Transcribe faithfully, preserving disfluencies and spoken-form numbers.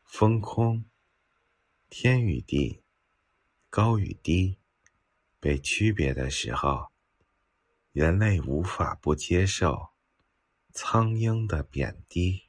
风空，天与地，高与低被区别的时候，人类无法不接受苍鹰的贬低。